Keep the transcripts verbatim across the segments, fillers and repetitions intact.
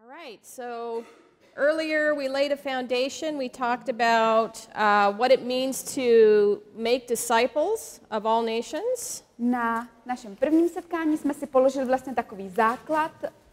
All right, so earlier we laid a foundation. We talked about uh, what it means to make disciples of all nations. Na našem prvním setkání jsme si položili vlastně takový základ.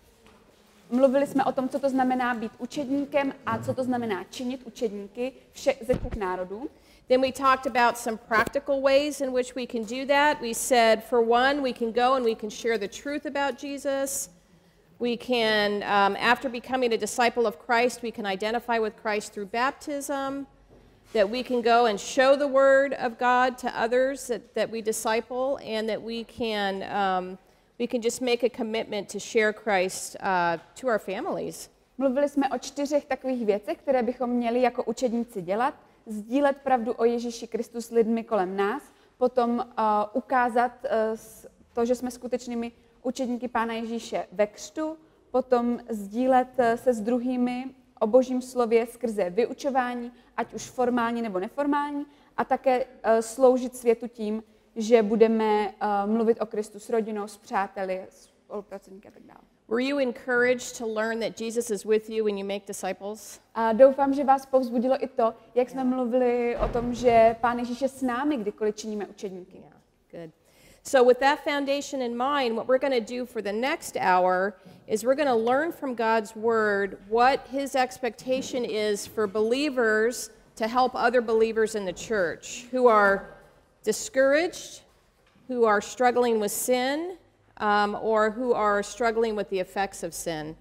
Mluvili jsme o tom, co to znamená být učedníkem a co to znamená činit učedníky všech ze všech národů. Then we talked about some practical ways in which we can do that. We said, for one, we can go and we can share the truth about Jesus. We can, um, after becoming a disciple of Christ, we can identify with Christ through baptism. That we can go and show the word of God to others that, that we disciple, and that we can, um, we can just make a commitment to share Christ uh, to our families. Mluvili jsme o čtyřech takových věcech, které bychom měli jako učedníci dělat. Sdílet pravdu o Ježíši Kristu s lidmi kolem nás, potom uh, ukázat uh, to, že jsme skutečnými učedníky Pána Ježíše ve křtu, potom sdílet uh, se s druhými o Božím slově skrze vyučování, ať už formální nebo neformální, a také uh, sloužit světu tím, že budeme uh, mluvit o Kristu s rodinou, s přáteli, spolupracovníky a tak dále. Were you encouraged to learn that Jesus is with you when you make disciples? A doufám, že vás povzbudilo i to, jak jsme mluvili o tom, že Pán Ježíš je s námi, kdykoliv činíme učedníky. Yeah, good. So with that foundation in mind, what we're going to do for the next hour is we're going to learn from God's word what his expectation is for believers to help other believers in the church who are discouraged, who are struggling with sin, Um, or who are struggling with the effects of sin.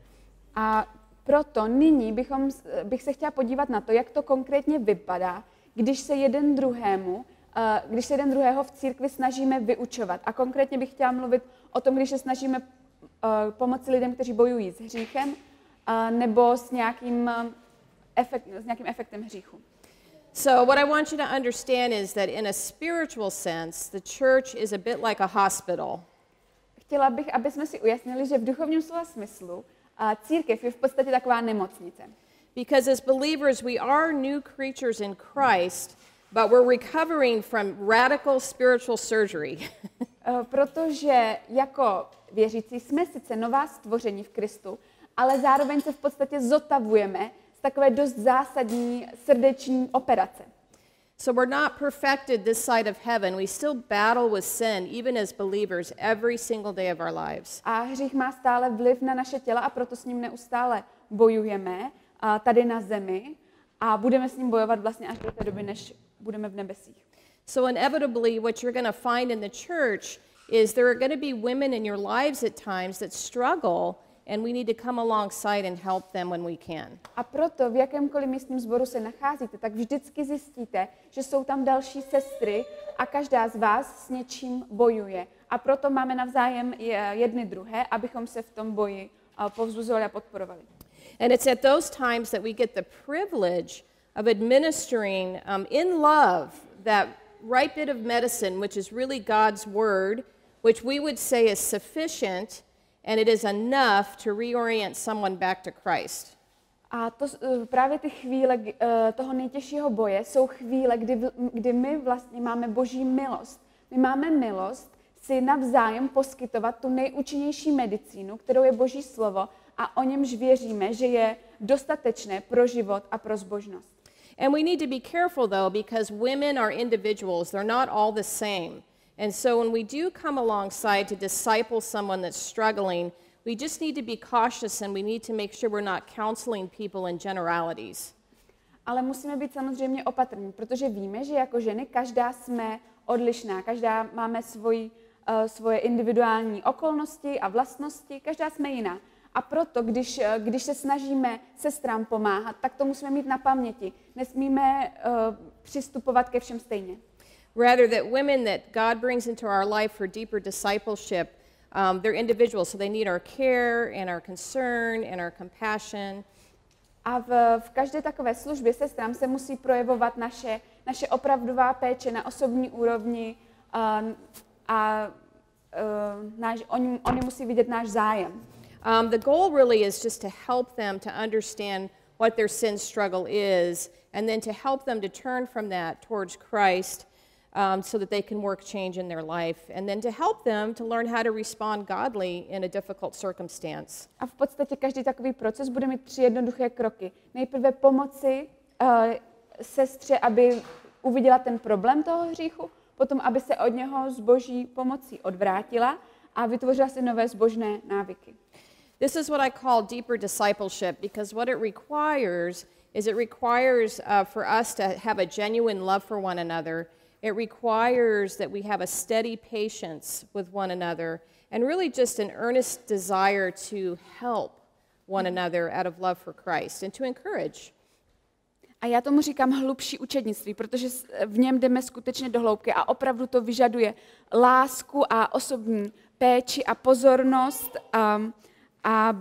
A proto nyní bychom, bych se chtěla podívat na to, jak to konkrétně vypadá, když se jeden druhému, uh, když se jeden druhého v církvi snažíme vyučovat. A konkrétně bych chtěla mluvit o tom, když se snažíme uh, pomoci lidem, kteří bojují s hříchem, uh, nebo s nějakým, uh, efekt, s nějakým efektem hříchu. So what I want you to understand is that in a spiritual sense, the church is a bit like a hospital. Chtěla bych, aby jsme si ujasnili, že v duchovním slova smyslu a církev je v podstatě taková nemocnice. Because as believers we are new creatures in Christ, but we're recovering from radical spiritual surgery. Protože jako věřící jsme sice nová stvoření v Kristu, ale zároveň se v podstatě zotavujeme z takové dost zásadní srdeční operace. So we're not perfected this side of heaven. We still battle with sin, even as believers, every single day of our lives. A hřích má stále vliv na naše těla a proto s ním neustále bojujeme a tady na zemi a budeme s ním bojovat vlastně až do té doby, než budeme v nebesích. So inevitably what you're going to find in the church is there are going to be women in your lives at times that struggle, and we need to come alongside and help them when we can. A proto v jakémkoliv místním sboru se nacházíte, tak vždycky zjistíte, že jsou tam další sestry a každá z vás s něčím bojuje. A proto máme navzájem jedny druhé, abychom se v tom boji povzbuzovali a podporovali. And it's at those times that we get the privilege of administering um, in love that right bit of medicine, which is really God's word, which we would say is sufficient, and it is enough to reorient someone back to Christ. A to, právě ty chvíle toho nejtěžšího boje jsou chvíle, kdy, kdy my vlastně máme Boží milost. My máme milost si navzájem poskytovat tu nejúčinnější medicínu, kterou je Boží slovo, a o němž věříme, že je dostatečné pro život a pro zbožnost. And we need to be careful though, because women are individuals. They're not all the same. And so when we do come alongside to disciple someone that's struggling, we just need to be cautious and we need to make sure we're not counseling people in generalities. Ale musíme být samozřejmě opatrní, protože víme, že jako ženy každá jsme odlišná, každá máme svoji, uh, svoje individuální okolnosti a vlastnosti, každá jsme jiná. A proto, když, uh, když se snažíme sestrám pomáhat, tak to musíme mít na paměti. Nesmíme uh, přistupovat ke všem stejně. Rather, that women that God brings into our life for deeper discipleship, um, they're individuals, so they need our care and our concern and our compassion. A v, v každé takové službě sestrám se musí projevovat naše, naše opravdová péče na osobní úrovni uh, a uh, náš, oni, oni musí vidět náš zájem. Um, the goal really is just to help them to understand what their sin struggle is, and then to help them to turn from that towards Christ. um, so that they can work change in their life, and then to help them to learn how to respond godly in a difficult circumstance. A v podstatě každý takový proces bude mít tři jednoduché kroky. Nejprve pomoci uh, sestře, aby uviděla ten problém toho hříchu, potom aby se od něho s Boží pomocí odvrátila a vytvořila si nové zbožné návyky. This is what I call deeper discipleship, because what it requires is it requires uh, for us to have a genuine love for one another. It requires that we have a steady patience with one another and really just an earnest desire to help one another out of love for Christ and to encourage. A já tomu říkám hlubší učednictví, protože v něm jdeme skutečně do hloubky a opravdu to vyžaduje lásku a osobní péči a pozornost, a, a,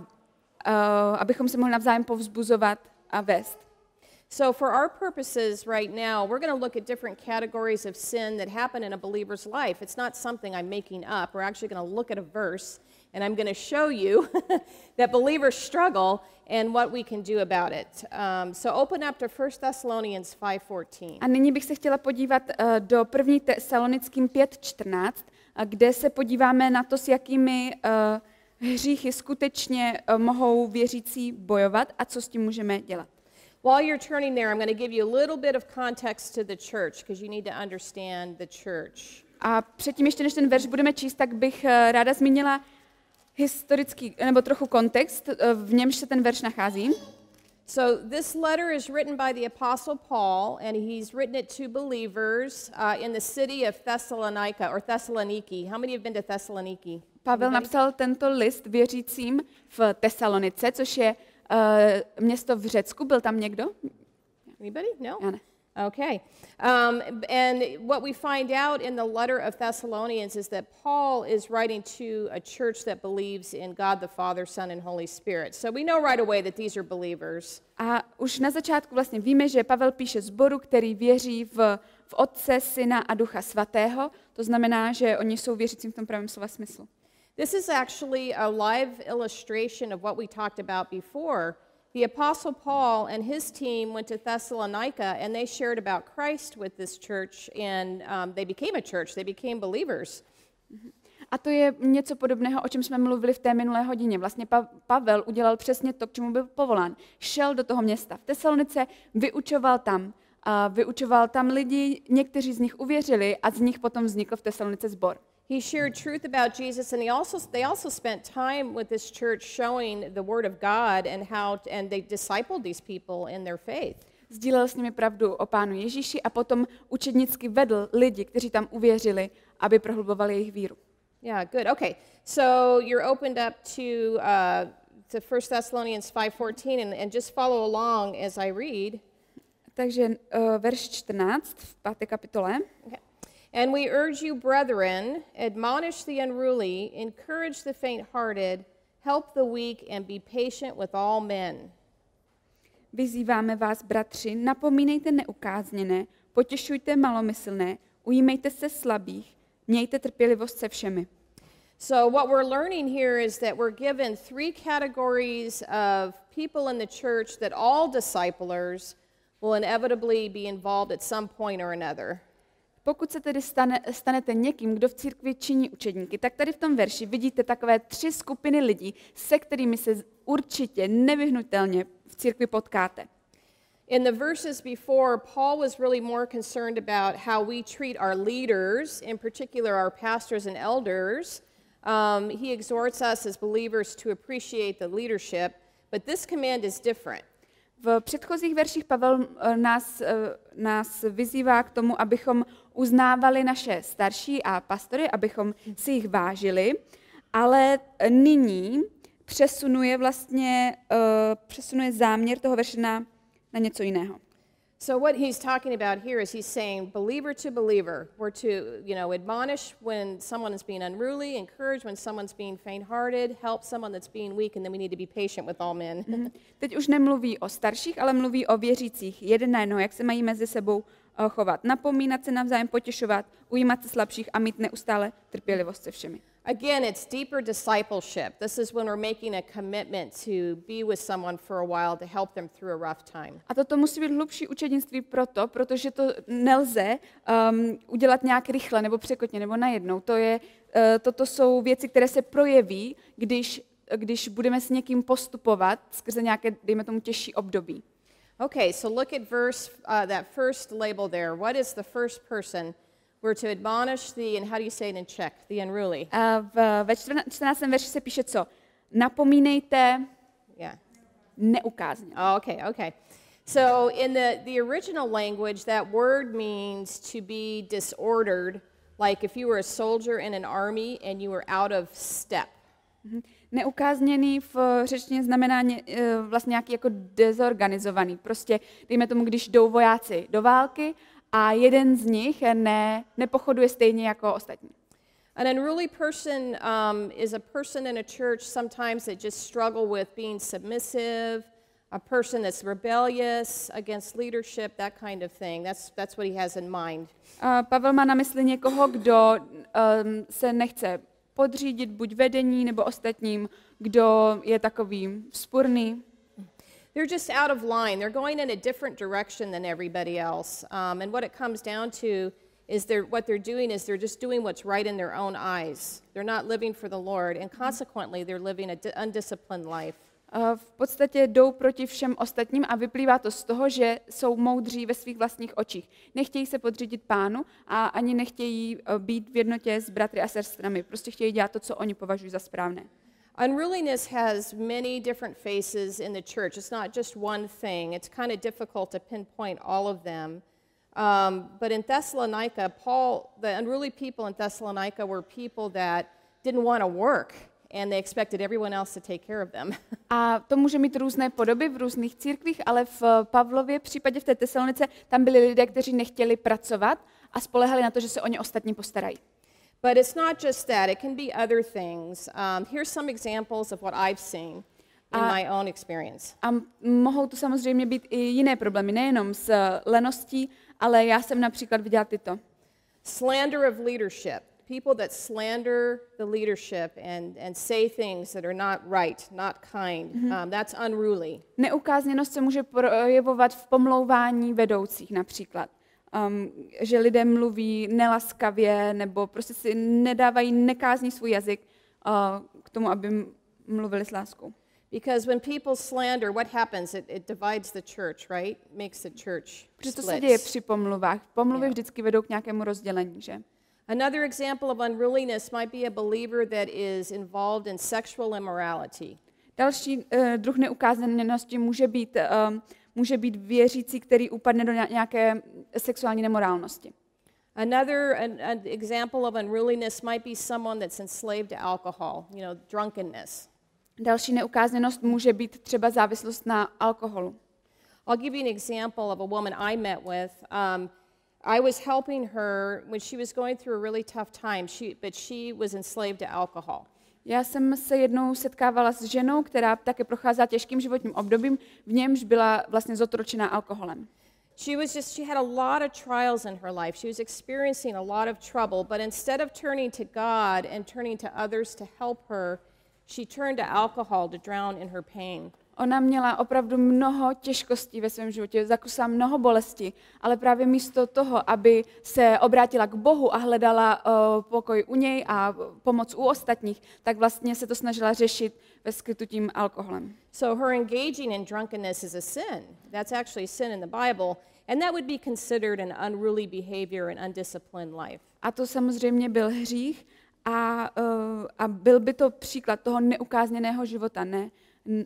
a abychom se mohli navzájem povzbuzovat a vést. So for our purposes right now, we're going to look at different categories of sin that happen in a believer's life. It's not something I'm making up. We're actually going to look at a verse, and I'm going to show you that believers struggle and what we can do about it. Um, so open up to First Thessalonians five fourteen. A nyní bych se chtěla podívat uh, do první Tesalonickým pět čtrnáct, uh, kde se podíváme na to, s jakými uh, hříchy skutečně uh, mohou věřící bojovat a co s tím můžeme dělat. While you're turning there, I'm going to give you a little bit of context to the church, because you need to understand the church. A předtím ještě, než ten verš budeme číst, tak bych uh, ráda zmínila historický, nebo trochu kontext, uh, v němž se ten verš nachází. So this letter is written by the Apostle Paul, and he's written it to believers uh, in the city of Thessalonica, or Thessaloniki. How many have been to Thessaloniki? Pavel Anybody? napsal tento list věřícím v Tesalonice, což je uh, město v Řecku. Byl tam někdo? Anybody? No? Já ne. Okay. Um, and what we find out in the letter of Thessalonians is that Paul is writing to a church that believes in God the Father, Son, and Holy Spirit. So we know right away that these are believers. A už na začátku vlastně víme, že Pavel píše sboru, který věří v, v Otce, Syna a Ducha Svatého. To znamená, že oni jsou věřícím v tom pravém slova smyslu. This is actually a live illustration of what we talked about before. The Apostle Paul and his team went to Thessalonica, and they shared about Christ with this church, and um, they became a church. They became believers. A to je něco podobného, o čem jsme mluvili v té minulé hodině. Vlastně pa- Pavel udělal přesně to, k čemu byl povolán. Šel do toho města v Tesalonice, vyučoval tam, a vyučoval tam lidi, někteří z nich uvěřili a z nich potom vznikl v Tesalonice sbor. He shared truth about Jesus, and he also, they also spent time with this church showing the Word of God and how, to, and they discipled these people in their faith. Sdílel s nimi pravdu o Pánu Ježíši a potom učednicky vedl lidi, kteří tam uvěřili, aby prohlubovali jejich víru. Yeah, good. Okay, so you're opened up to uh, to First Thessalonians five fourteen, and, and just follow along as I read. Takže uh, verš čtrnáct v páté kapitole. Okay. And we urge you, brethren, admonish the unruly, encourage the faint-hearted, help the weak, and be patient with all men. Vyzýváme vás, bratři, napomínejte neukázněné, potěšujte malomyslné, ujímejte se slabých, mějte trpělivost se všemi. So what we're learning here is that we're given three categories of people in the church that all disciplers will inevitably be involved at some point or another. Pokud se tedy stane, stanete někým, kdo v církvi činí učedníky, tak tady v tom verši vidíte takové tři skupiny lidí, se kterými se určitě nevyhnutelně v církvi potkáte. In the verses before, Paul was really more concerned about how we treat our leaders, in particular our pastors and elders. Um, he exhorts us as believers to appreciate the leadership, but this command is different. V předchozích verších Pavel nás, nás vyzývá k tomu, abychom uznávali naše starší a pastory, abychom si jich vážili, ale nyní přesunuje vlastně uh, přesunuje záměr toho verše na, na něco jiného. So what he's talking about here is he's saying believer to believer, we're to, you know, admonish when someone is being unruly, encourage when someone's being faint-hearted, help someone that's being weak, and then we need to be patient with all men. Teď už nemluví o starších, ale mluví o věřících jeden na jednoho, jak se mají mezi sebou uh, chovat. Napomínat se navzájem, potěšovat, ujímat se slabších a mít neustále trpělivost se všemi. Again, it's deeper discipleship. This is when we're making a commitment to be with someone for a while to help them through a rough time. A toto musí být hlubší učednictví proto, protože to nelze um, udělat nějak rychle nebo překotně nebo najednou. To je, uh, toto jsou věci, které se projeví, když, když budeme s někým postupovat skrze nějaké, dejme tomu, těžší období. Okay, so look at verse, uh, that first label there. What is the first person? We're to admonish the, and how do you say it in Czech? The unruly. Uh, v, ve čtrnáctém verši se píše co? Napomínejte Yeah. neukázně. Oh, okay, okay. So in the, the original language, that word means to be disordered, like if you were a soldier in an army and you were out of step. Mhm. Neukázněný v řečtině znamená ně, vlastně nějaký jako dezorganizovaný. Prostě dejme tomu, když jdou vojáci do války a jeden z nich ne, nepochoduje stejně jako ostatní. An unruly person um, is a person in a church sometimes that just struggle with being submissive, a person that's rebellious against leadership, that kind of thing. That's, that's what he has in mind. Uh, Pavel má na mysli někoho, kdo um, se nechce podřídit buď vedení nebo ostatním, kdo je takový vzpurný. They're just out of line. They're going in a different direction than everybody else. Um, and what it comes down to is they're, what they're doing is they're just doing what's right in their own eyes. They're not living for the Lord, and consequently they're living an undisciplined life. Uh, v podstatě jdou proti všem ostatním a vyplývá to z toho, že jsou moudří ve svých vlastních očích. Nechtějí se podřídit Pánu a ani nechtějí uh, být v jednotě s bratry a sestrami. Prostě chtějí dělat to, co oni považují za správné. Unruliness has many different faces in the church. It's not just one thing. It's kind of difficult to pinpoint all of them. Um, but in Thessalonica, Paul, the unruly people in Thessalonica were people that didn't want to work, and they expected everyone else to take care of them. A to může mít různé podoby v různých církvích, ale v Pavlově případě v té Tesalonice tam byli lidé, kteří nechtěli pracovat a spolehali na to, že se o ně ostatní postarají. But it's not just that. It can be other things. Um, here's some examples of what I've seen in A- my own experience. A mohou to samozřejmě být i jiné problémy, nejenom s leností, ale já jsem například viděla tyto. Slander of leadership. People that slander the leadership and, and say things that are not right, not kind. Mm-hmm. Um, that's unruly. Neukázněnost se může projevovat v pomlouvání vedoucích například. Um, že lidé mluví nelaskavě nebo prostě si nedávají, nekázní svůj jazyk uh, k tomu, aby mluvili s láskou. Because when people slander, what happens? It, it divides the church, right? Makes the church Protože to se děje splits. při pomluvách. Pomluvy Jo. vždycky vedou k nějakému rozdělení, že? Another example of unruliness might be a believer that is involved in sexual immorality. Další uh, druh neukázanosti může být, um, může být věřící, který upadne do nějaké sexuální nemorálnosti. Another an, an example of unruliness might be someone that's enslaved to alcohol, you know, drunkenness. Další neukázněnost může být třeba závislost na alkoholu. I'll give you an example of a woman I met with. Um, I was helping her when she was going through a really tough time, she, but she was enslaved to alcohol. Já jsem se jednou setkávala s ženou, která také procházela těžkým životním obdobím, v němž byla vlastně zotročená alkoholem. She was just, she had a lot of trials in her life. She was experiencing a lot of trouble, but instead of turning to God and turning to others to help her, she turned to alcohol to drown in her pain. Ona měla opravdu mnoho těžkostí ve svém životě, zakusila mnoho bolesti, ale právě místo toho, aby se obrátila k Bohu a hledala uh, pokoj u něj a pomoc u ostatních, tak vlastně se to snažila řešit ve skrytu tím alkoholem. So her engaging in drunkenness is a sin. That's actually sin in the Bible, and that would be considered an unruly behavior and undisciplined life. A to samozřejmě byl hřích a, uh, a byl by to příklad toho neukázněného života, ne? N-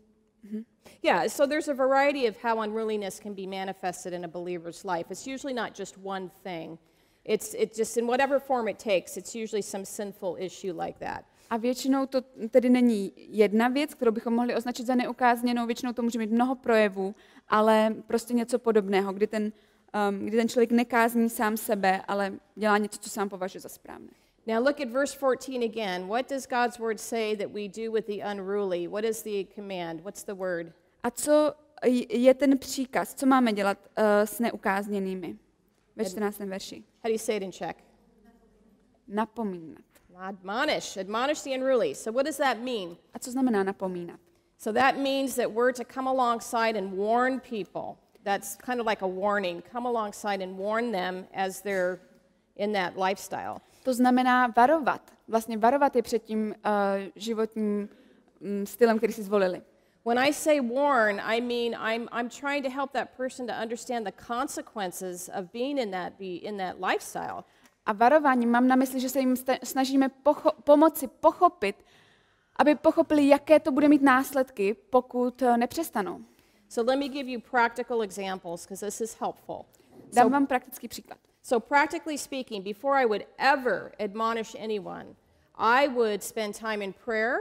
Yeah, so there's a variety of how unruliness can be manifested in a believer's life. It's usually not just one thing. It's, it's just in whatever form it takes, it's usually some sinful issue like that. A většinou to tedy není jedna věc, kterou bychom mohli označit za neukázněnou, většinou to může mít mnoho projevů, ale prostě něco podobného, kdy ten, um, kdy ten člověk nekázní sám sebe, ale dělá něco, co sám považuje za správné. Now look at verse fourteen again. What does God's word say that we do with the unruly? What is the command? What's the word? A co je ten příkaz? Co máme dělat uh, s neukázněnými? ve čtrnáctém verši. How do you say it in Czech? Napomínat. Admonish. Admonish the unruly. So what does that mean? A co znamená napomínat? So that means that we're to come alongside and warn people. That's kind of like a warning. Come alongside and warn them as they're in that lifestyle. To znamená varovat. Vlastně varovat je před tím uh, životním um, stylem, který si zvolili. When I say warn, I mean I'm, I'm trying to help that person to understand the consequences of being in that, be, in that lifestyle. A varováním mám na mysli, že se jim snažíme pocho- pomoci pochopit, aby pochopili, jaké to bude mít následky, pokud uh, nepřestanou. So let me give you practical examples, because this is helpful. Dám So, vám praktický příklad. so practically speaking, before I would ever admonish anyone, I would spend time in prayer.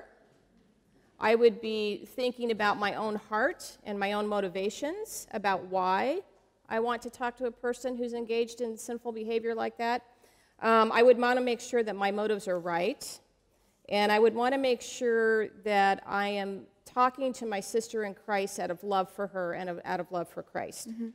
I would be thinking about my own heart and my own motivations, about why I want to talk to a person who's engaged in sinful behavior like that. Um, I would want to make sure that my motives are right, and I would want to make sure that I am talking to my sister in Christ out of love for her and of, out of love for Christ. Mm-hmm.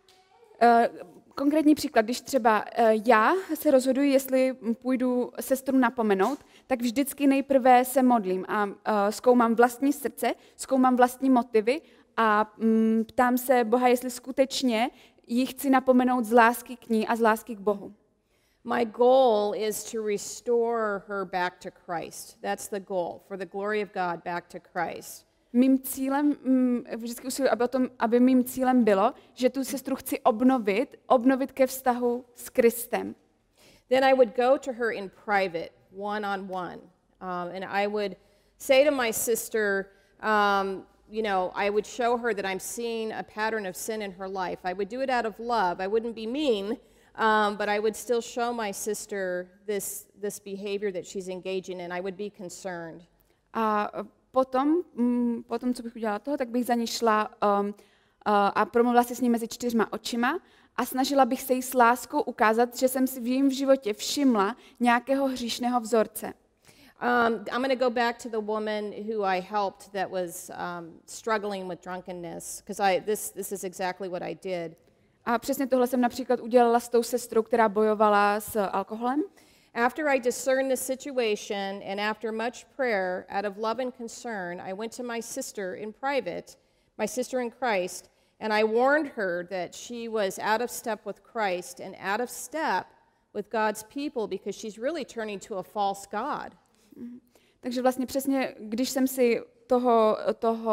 Uh, konkrétní příklad, když třeba uh, já se rozhoduji, jestli půjdu sestru napomenout, tak vždycky nejprve se modlím a uh, zkoumám vlastní srdce, zkoumám vlastní motivy a um, ptám se Boha, jestli skutečně ji chci napomenout z lásky k ní a z lásky k Bohu. My goal is to restore her back to Christ. That's the goal, for the glory of God back to Christ. Mým cílem, vždycky usiluji, aby, o tom, aby mým cílem bylo, že tu sestru chci obnovit, obnovit ke vztahu s Kristem. Then I would go to her in private, one on one, um, and I would say to my sister, um, you know, I would show her that I'm seeing a pattern of sin in her life. I would do it out of love. I wouldn't be mean, um, but I would still show my sister this this behavior that she's engaging in. I would be concerned. A potom, mm, potom, co bych udělala toho, tak bych za ní šla um, uh, a promluvila si s ní mezi čtyřma očima a snažila bych se jí s láskou ukázat, že jsem si v jejím životě všimla nějakého hříšného vzorce. Um, I'm going to go back to the woman who I helped that was um, struggling with drunkenness, because I this this is exactly what I did. A přesně tohle jsem například udělala s tou sestrou, která bojovala s alkoholem. After I discerned the situation and after much prayer, out of love and concern, I went to my sister in private, my sister in Christ, and I warned her that she was out of step with Christ and out of step with God's people because she's really turning to a false God. Takže vlastně přesně, když jsem si toho, toho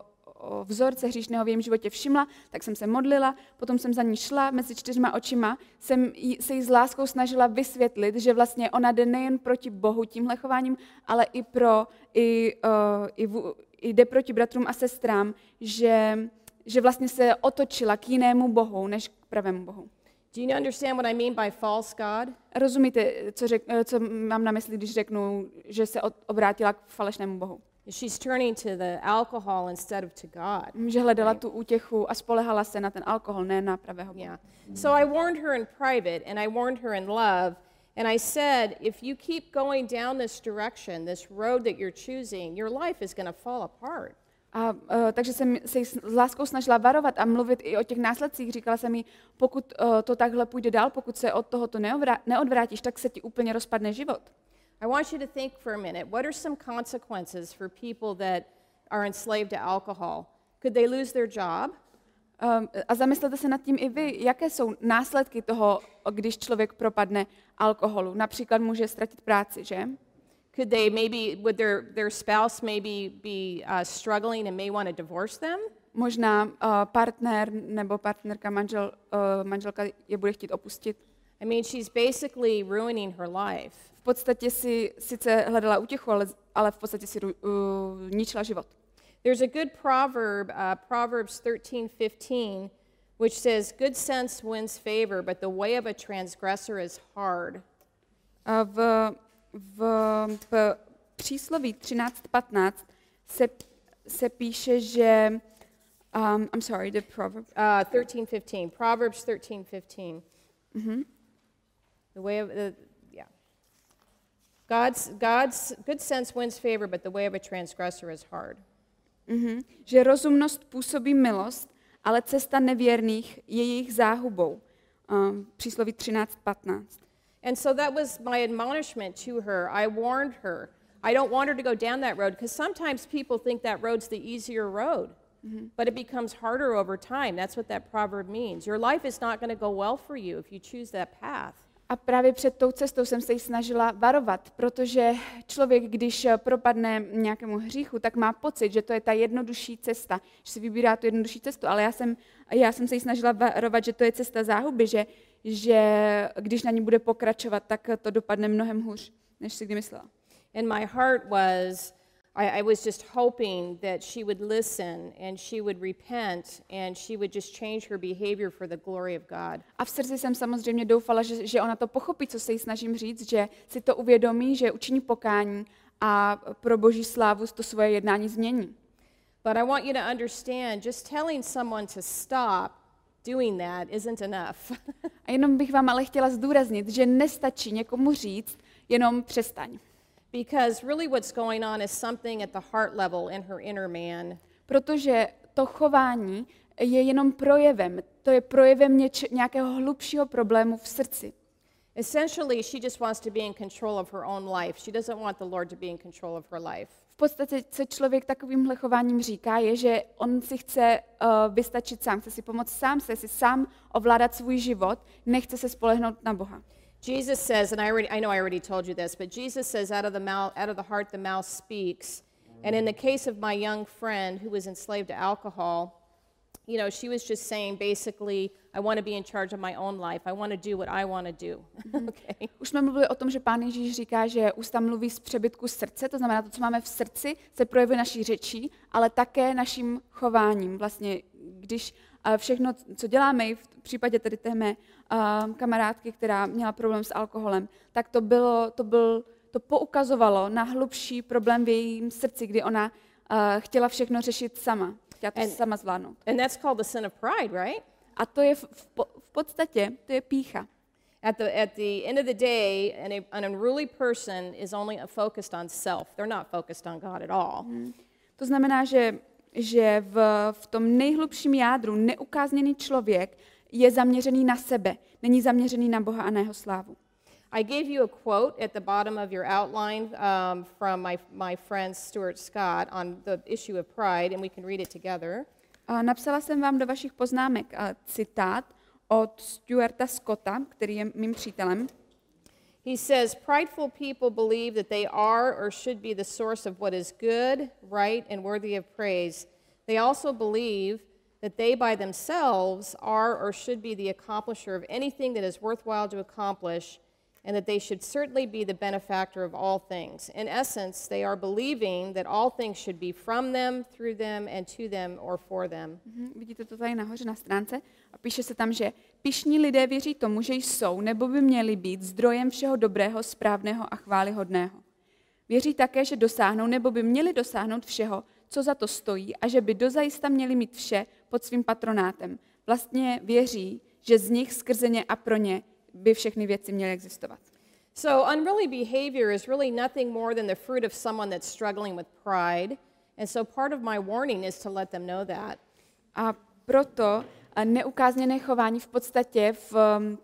vzorce hříšného v jejím životě všimla, tak jsem se modlila, potom jsem za ní šla mezi čtyřma očima, jsem se jí s láskou snažila vysvětlit, že vlastně ona jde nejen proti Bohu tímhle chováním, ale i, pro, i, uh, i, v, i jde proti bratrům a sestrám, že, že vlastně se otočila k jinému Bohu, než k pravému Bohu. Do you understand what I mean by false God? Rozumíte, co, řek, co mám na mysli, když řeknu, že se obrátila k falešnému Bohu? She's turning to the alcohol instead of to God. Že hledala tu útěchu a spolehala se na ten alkohol, ne na pravého Boha. Yeah. So I warned her in private and I warned her in love and I said, if you keep going down this direction, this road that you're choosing, your life is going to fall apart. A uh, takže jsem se jí s láskou snažila varovat a mluvit i o těch následcích. Říkala jsem jí, pokud uh, to takhle půjde dál, pokud se od tohoto neodvrátíš, tak se ti úplně rozpadne život. I want you to think for a minute, what are some consequences for people that are enslaved to alcohol? Could they lose their job? Um, a zamyslete se nad tím i vy, jaké jsou následky toho, když člověk propadne alkoholu. Například může ztratit práci, že? Could they maybe, would their, their spouse maybe be uh, struggling and may want to divorce them? Možná uh, partner nebo partnerka, manžel, uh, manželka je bude chtít opustit. I mean, she's basically ruining her life. V podstatě si sice hledala útěchu, ale, ale v podstatě si uh, ničila život. There's a good proverb, uh, Proverbs thirteen fifteen, which says, good sense wins favor, but the way of a transgressor is hard. Uh, v, v, v přísloví třináct patnáct se, se píše, že um, I'm sorry, the proverb. Uh, thirteen fifteen, Proverbs thirteen fifteen. Mm-hmm. The way of the yeah. God's God's good sense wins favor, but the way of a transgressor is hard. Mm-hmm. Že rozumnost působí milost, ale cesta nevěrných je jejich záhubou. Um, přísloví třináct patnáct. And so that was my admonishment to her. I warned her. I don't want her to go down that road because sometimes people think that road's the easier road. Mm-hmm. But it becomes harder over time. That's what that proverb means. Your life is not going to go well for you if you choose that path. A právě před tou cestou jsem se jí snažila varovat, protože člověk, když propadne nějakému hříchu, tak má pocit, že to je ta jednodušší cesta, že si vybírá tu jednodušší cestu, ale já jsem, já jsem se jí snažila varovat, že to je cesta záhuby, že, že když na ní bude pokračovat, tak to dopadne mnohem hůř, než si kdy myslela. And my heart was, I, I was just hoping that she would listen and she would repent and she would just change her behavior for the glory of God. A v srdci jsem samozřejmě doufala, že, že ona to pochopí, co se jí snažím říct, že si to uvědomí, že učiní pokání a pro Boží slávu to svoje jednání změní. But I want you to understand, just telling someone to stop doing that isn't enough. A jenom bych vám ale chtěla zdůraznit, že nestačí někomu říct, jenom přestaň. Because really what's going on is something at the heart level in her inner man. Protože to chování je jenom projevem, to je projevem něč, nějakého hlubšího problému v srdci. Essentially, she just wants to be in control of her own life. She doesn't want the Lord to be in control of her life. V podstatě, co člověk takovýmhle chováním říká, je, že on si chce uh, vystačit sám, chce si pomoct sám, chce si sám ovládat svůj život, nechce se spolehnout na Boha. Jesus says, and I already I know I already told you this, but Jesus says out of the mouth out of the heart the mouth speaks. And in the case of my young friend who was enslaved to alcohol, you know, she was just saying basically, I want to be in charge of my own life. I want to do what I want to do. Okay. Už jsme mluvili o tom, že Pán Ježíš říká, že ústa mluví z přebytku srdce, to znamená to, co máme v srdci, se projevuje naší řečí, ale také naším chováním. Vlastně, když všechno, co děláme, i v případě tedy té mé uh, kamarádky, která měla problém s alkoholem, tak to bylo, to byl, to poukazovalo na hlubší problém v jejím srdci, kdy ona uh, chtěla všechno řešit sama, chtěla to And- sama zvládnout. And that's called the sin of pride, right? A to je v, v, v podstatě, to je pýcha. At the, at the end of the day, an, an unruly person is only focused on self. They're not focused on God at all. Hmm. To znamená, že, že v, v tom nejhlubším jádru neukázněný člověk je zaměřený na sebe, není zaměřený na Boha a na jeho slávu. I gave you a quote at the bottom of your outline um, from my, my friend Stuart Scott on the issue of pride, and we can read it together. A napsala jsem vám do vašich poznámek a citát od Stuarta Scotta, který je mým přítelem. He says, prideful people believe that they are or should be the source of what is good, right, and worthy of praise. They also believe that they by themselves are or should be the accomplisher of anything that is worthwhile to accomplish, and that they should certainly be the benefactor of all things. In essence, they are believing that all things should be from them, through them, and to them or for them. Mhm, vidíte to tady nahoře na stránce? A píše se tam, že pyšní lidé věří tomu, že jsou nebo by měli být zdrojem všeho dobrého, správného a chvályhodného. Věří také, že dosáhnou nebo by měli dosáhnout všeho, co za to stojí, a že by dozajista měli mít vše pod svým patronátem. Vlastně věří, že z nich skrze ně a pro ně by všechny věci měly existovat. So unruly behavior is really nothing more than the fruit of someone that's struggling with pride. And so part of my warning is to let them know that. A proto neukázněné chování v podstatě v,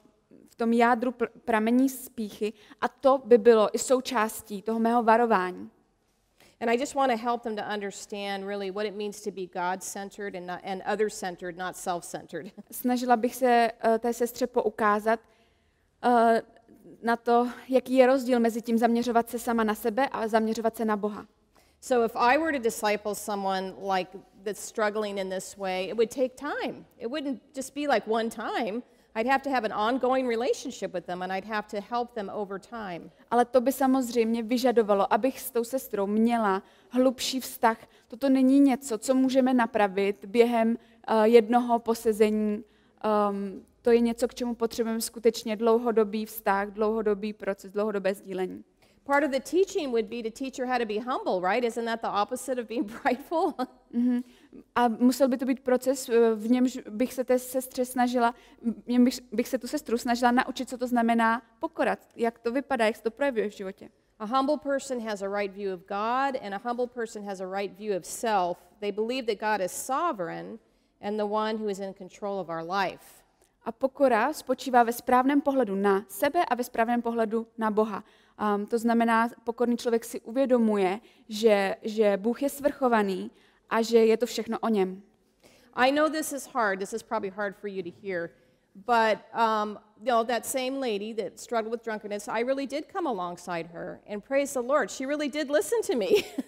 v tom jádru pr- pramení z pýchy, a to by bylo i součástí toho mého varování. And I just want to help them to understand really what it means to be God-centered and, not, and other-centered, not self-centered. Snažila bych se uh, té sestře poukázat uh, na to, jaký je rozdíl mezi tím zaměřovat se sama na sebe a zaměřovat se na Boha. So if I were to disciple someone like that's struggling in this way, it would take time. It wouldn't just be like one time. I'd have to have an ongoing relationship with them and I'd have to help them over time. Ale to by samozřejmě vyžadovalo, abych s tou sestrou měla hlubší vztah. Toto není něco, co můžeme napravit během uh, jednoho posezení. Um, to je něco, k čemu potřebujeme skutečně dlouhodobý vztah, dlouhodobý proces, dlouhodobé sdílení. Part of the teaching would be to teach her how to be humble, right? Isn't that the opposite of being prideful? Mm-hmm. A musel by to být proces, v němž bych se té sestře snažila, v něm bych, bych se tu sestru snažila naučit, co to znamená pokorat, jak to vypadá, jak se to projevuje v životě. A humble person has a right view of God, and a humble person has a right view of self. They believe that God is sovereign and the one who is in control of our life. A pokora spočívá ve správném pohledu na sebe a ve správném pohledu na Boha. Um, to znamená, pokorný člověk si uvědomuje, že, že Bůh je svrchovaný a že je to všechno o něm. I know this is hard. This is probably hard for you to hear. But, um, you know, that same lady that struggled with drunkenness, I really did come alongside her. And praise the Lord, she really did listen to me.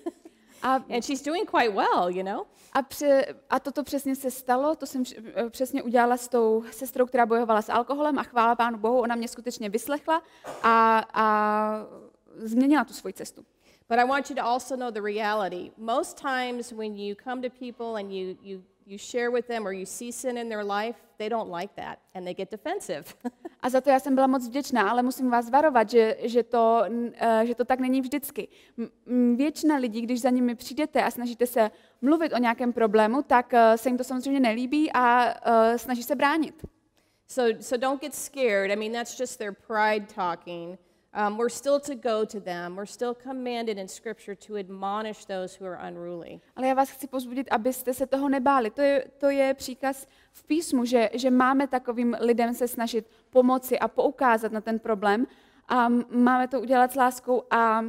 A, and she's doing quite well, you know. A, pře, a toto přesně se stalo, to jsem přesně udělala s tou sestrou, která bojovala s alkoholem a chvála Pánu Bohu, ona mě skutečně vyslechla a, a změnila tu svoji cestu. But I want you to also know the reality. Most times when you come to people and you, you, you share with them or you see sin in their life, they don't like that and they get defensive. A za to já jsem byla moc vděčná, ale musím vás varovat, že, že, to, že to tak není vždycky. Většina lidí, když za nimi přijdete a snažíte se mluvit o nějakém problému, tak se jim to samozřejmě nelíbí a snaží se bránit. So, so don't get scared. I mean, that's just their pride talking. Um, we're still to go to them. We're still commanded in Scripture to admonish those who are unruly. Ale já vás chci povzbudit, abyste se toho nebáli. To je, to je příkaz v písmu, že, že máme takovým lidem se snažit pomoci a poukázat na ten problém. A máme to udělat s láskou a,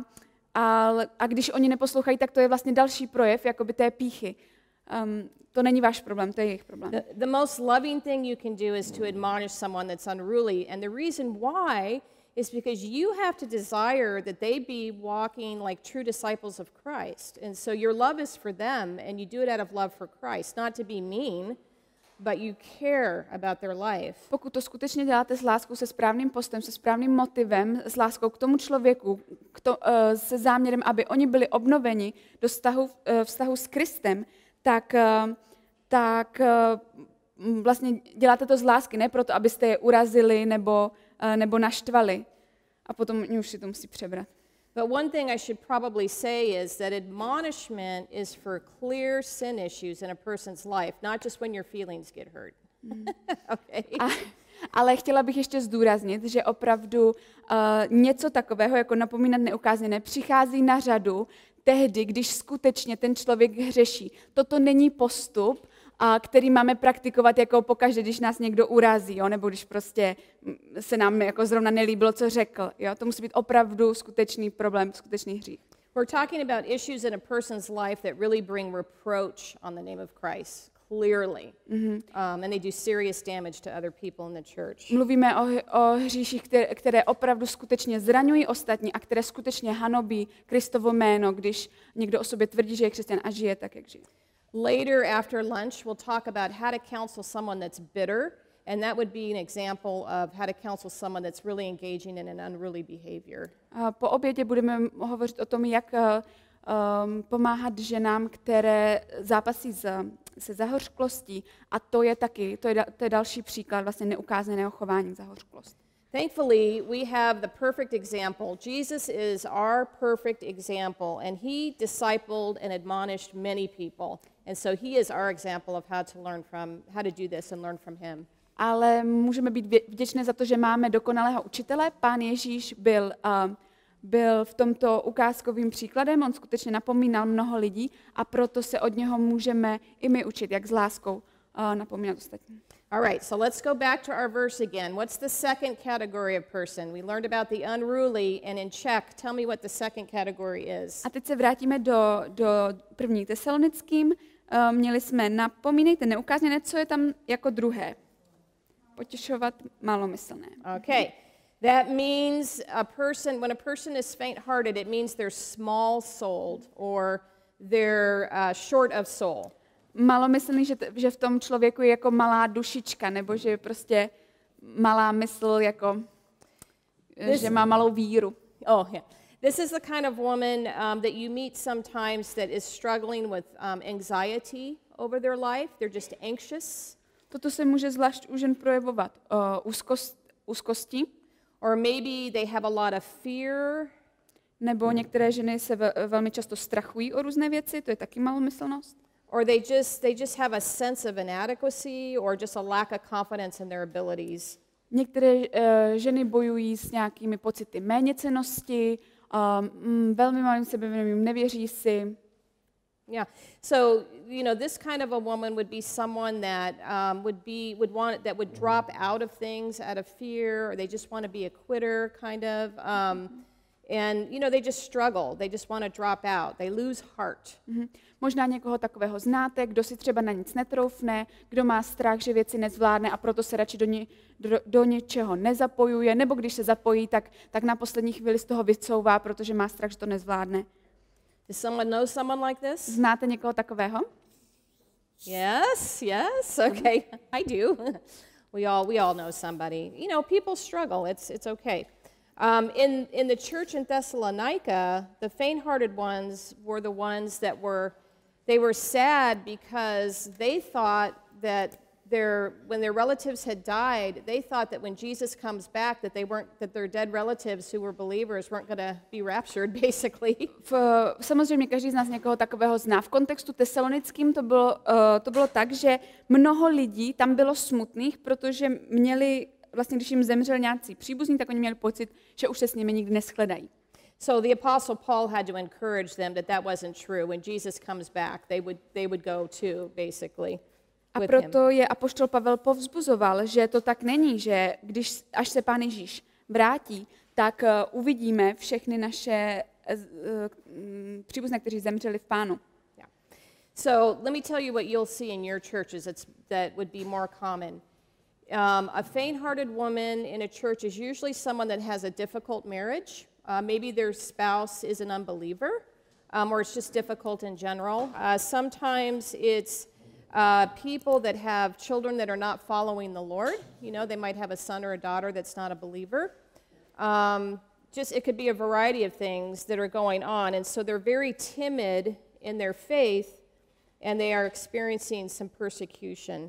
a, a když oni neposlouchají, tak to je vlastně další projev jakoby té pýchy. Um, to není váš problém, to je jejich problém. The, the most loving thing you can do is to admonish someone that's unruly. And the reason why is because you have to desire that they be walking like true disciples of Christ. And so your love is for them, and you do it out of love for Christ, not to be mean, but you care about their life. Pokud to skutečně děláte s láskou, se správným postem, se správným motivem, s láskou k tomu člověku, k to, uh, se záměrem, aby oni byli obnoveni do vztahu, uh, vztahu s Kristem, tak, uh, tak uh, vlastně děláte to z lásky, ne proto, abyste je urazili nebo nebo naštvali a potom oni už si to musí přebrat. But one thing I should probably say is that admonishment is for clear sin issues in a person's life, not just when your feelings get hurt. Mm. Okay. A, ale chtěla bych ještě zdůraznit, že opravdu uh, něco takového, jako napomínat neukázněné, přichází na řadu tehdy, když skutečně ten člověk hřeší. Toto není postup, a který máme praktikovat jako pokaždé, když nás někdo urazí, jo? Nebo když prostě se nám jako zrovna nelíbilo, co řekl. Jo? To musí být opravdu skutečný problém, skutečný hřích. We're talking about issues in a person's life that really bring reproach on the name of Christ, clearly. Mm-hmm. Um, and they do serious damage to other people in the church. Mluvíme o, o hříších, které, které opravdu skutečně zraňují ostatní a které skutečně hanobí Kristovo jméno, když někdo o sobě tvrdí, že je křesťan a žije tak, jak žije. Later, after lunch, we'll talk about how to counsel someone that's bitter, and that would be an example of how to counsel someone that's really engaging in an unruly behavior. Po obědě budeme hovořit o tom, jak um, pomáhat ženám, které zápasí s, se zahořklostí, a to je taky, to je, to je další příklad vlastně neukázaného chování zahořklost. Thankfully, we have the perfect example. Jesus is our perfect example, and he discipled and admonished many people. And so he is our example of how to learn from, how to do this and learn from him. Ale můžeme být vděčné za to, že máme dokonalého učitele. Pán Ježíš byl, uh, byl v tomto ukázkovým příkladem, on skutečně napomínal mnoho lidí a proto se od něho můžeme i my učit, jak s láskou uh, napomínat ostatní. All right, so let's go back to our verse again. What's the second category of person? We learned about the unruly, and in Czech, tell me what the second category is. A teď se vrátíme do, do první Tesalonickým. Uh, měli jsme napomínejte neukázněné, co je tam jako druhé. Potěšovat malomyslné. Okay. That means a person, when a person is faint-hearted, it means they're small-souled or they're uh, short of soul. Malomyslný, že, t- že v tom člověku je jako malá dušička, nebo že je prostě malá mysl, jako, This, že má malou víru. Oh, yeah. This is the kind of woman um, that you meet sometimes that is struggling with um, anxiety over their life. They're just anxious. Toto se může zvlášť u žen projevovat uh, úzkost, úzkosti. Or maybe they have a lot of fear. Nebo některé ženy se ve, velmi často strachují o různé věci, to je taky malomyslnost. Or they just they just have a sense of inadequacy or just a lack of confidence in their abilities. Některé uh, ženy bojují s nějakými pocity méněcennosti, um, velmi malým sebevědomím, nevěří si. Yeah. So, you know, this kind of a woman would be someone that um, would be would want that would drop out of things out of fear, or they just want to be a quitter, kind of. Um, and you know, they just struggle. They just want to drop out. They lose heart. Mm-hmm. Možná někoho takového znáte, kdo si třeba na nic netroufne, kdo má strach, že věci nezvládne a proto se radši do, ně, do, do něčeho nezapojuje, nebo když se zapojí, tak, tak na poslední chvíli z toho vycouvá, protože má strach, že to nezvládne. Does someone know someone like this? Znáte někoho takového? Yes, yes. Okay, I do. we all we all know somebody. You know, people struggle. It's it's okay. Um, in in the church in Thessalonica, the faint-hearted ones were the ones that were they were sad because they thought that their when their relatives had died, they thought that when Jesus comes back, that they weren't that their dead relatives who were believers weren't going to be raptured, basically. V, samozřejmě každý z nás někoho takového zná. V kontextu tesalonickým to bylo, uh, to bylo tak, že mnoho lidí tam bylo smutných, protože měli, vlastně když jim zemřel nějací příbuzní, tak oni měli pocit, že už se s nimi nikdy neschledají. So the apostle Paul had to encourage them that that wasn't true. When Jesus comes back, they would they would go too, basically. A proto je apoštol Pavel povzbuzoval, že to tak není, že když až se Pán Ježíš vrátí, tak uh, uvidíme všechny naše uh, uh, příbuzné, kteří zemřeli v Pánu. Yeah. So let me tell you what you'll see in your churches that's, that would be more common. Um, a faint-hearted woman in a church is usually someone that has a difficult marriage. Uh, maybe their spouse is an unbeliever, um, or it's just difficult in general. Uh, sometimes it's Uh, people that have children that are not following the Lord. You know, they might have a son or a daughter that's not a believer. Um, just it could be a variety of things that are going on, and so they're very timid in their faith, and they are experiencing some persecution.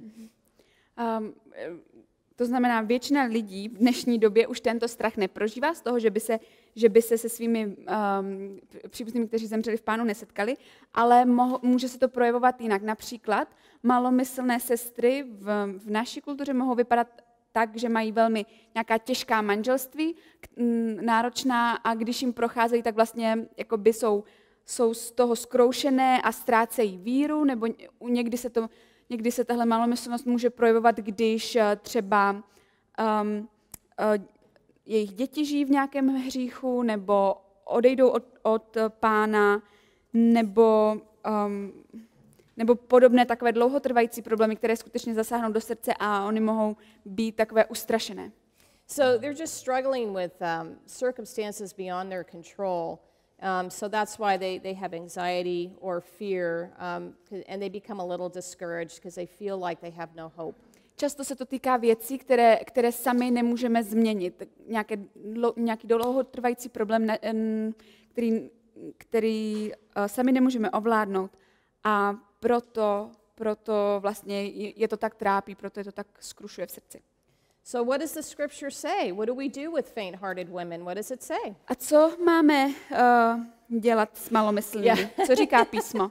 Um, to znamená, většina lidí v dnešní době už tento strach neprožívá z toho, že by se, že by se se svými um, příbuznými, kteří zemřeli v Pánu, nesetkali, ale moho, může se to projevovat jinak. Například malomyslné sestry v, v naší kultuře mohou vypadat tak, že mají velmi nějaká těžká manželství, k, m, náročná, a když jim procházejí, tak vlastně jakoby jsou, jsou z toho zkroušené a ztrácejí víru, nebo někdy se to Někdy se tahle malomyslnost může projevovat, když třeba um, uh, jejich děti žijí v nějakém hříchu, nebo odejdou od, od Pána, nebo, um, nebo podobné takové dlouhotrvající problémy, které skutečně zasáhnou do srdce a oni mohou být takové ustrašené. So they're just struggling with um, circumstances beyond their control. Um, so that's why they, they have anxiety or fear, um, and they become a little discouraged because they feel like they have no hope. Často se to týká věcí, které, které sami nemůžeme změnit. Nějaké, nějaký dlouhotrvající problém, který, který uh, sami nemůžeme ovládnout. A proto, proto vlastně je to tak trápí, proto je to tak skrušuje v srdci. So what does the scripture say? What do we do with faint-hearted women? What does it say? A co máme uh, dělat s malomyslnými? Yeah. Co říká písmo?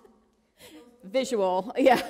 Visual, yeah.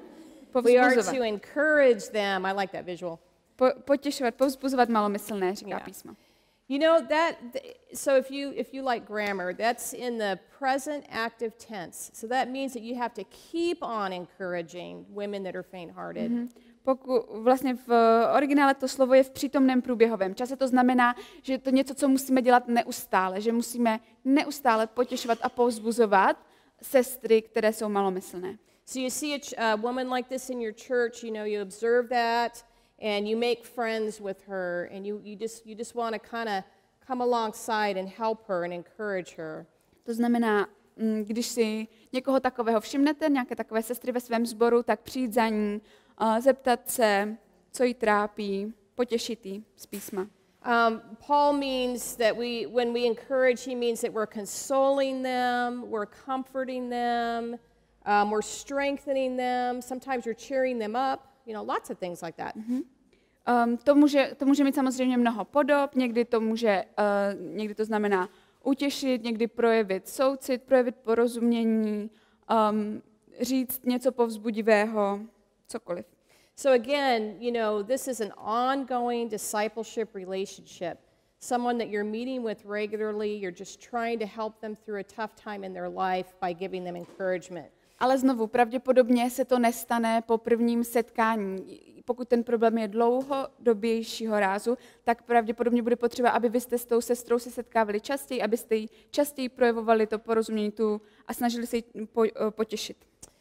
We are to encourage them. I like that visual. Po, potěšovat, povzbuzovat malomyslné, říká yeah. písmo. You know that, so if you if you like grammar, that's in the present active tense. So that means that you have to keep on encouraging women that are faint-hearted. Mm-hmm. Pokud vlastně v originále to slovo je v přítomném průběhovém čase, to znamená, že je to něco, co musíme dělat neustále, že musíme neustále potěšovat a povzbuzovat sestry, které jsou malomyslné. So you see a uh, woman like this in your church, you know, you observe that and you make friends with her and you, you just you just want to kind of come alongside and help her and encourage her. To znamená, když si někoho takového všimnete, nějaké takové sestry ve svém sboru, tak přijít za ní, Uh, zeptat se, co jí trápí, potěšit jí z písma. Um, Paul means that we, when we encourage, he means that we're consoling them, we're comforting them, um, we're strengthening them. Sometimes you're cheering them up. You know, lots of things like that. Mm-hmm. Um, to může, to může mít samozřejmě mnoho podob. Někdy to může, uh, někdy to znamená utěšit, někdy projevit soucit, projevit porozumění, um, říct něco povzbudivého. Cokoliv. So again, you know, this is an ongoing discipleship relationship. Someone that you're meeting with regularly, you're just trying to help them through a tough time in their life by giving them encouragement. Ale znovu, pravděpodobně se to nestane po prvním setkání. Pokud ten problém je dlouhodobějšího rázu, tak pravděpodobně bude potřeba, aby vy jste s tou sestrou se setkávali častěji, abyste jí častěji projevovali to porozumění tu a snažili se jí po, potěšit.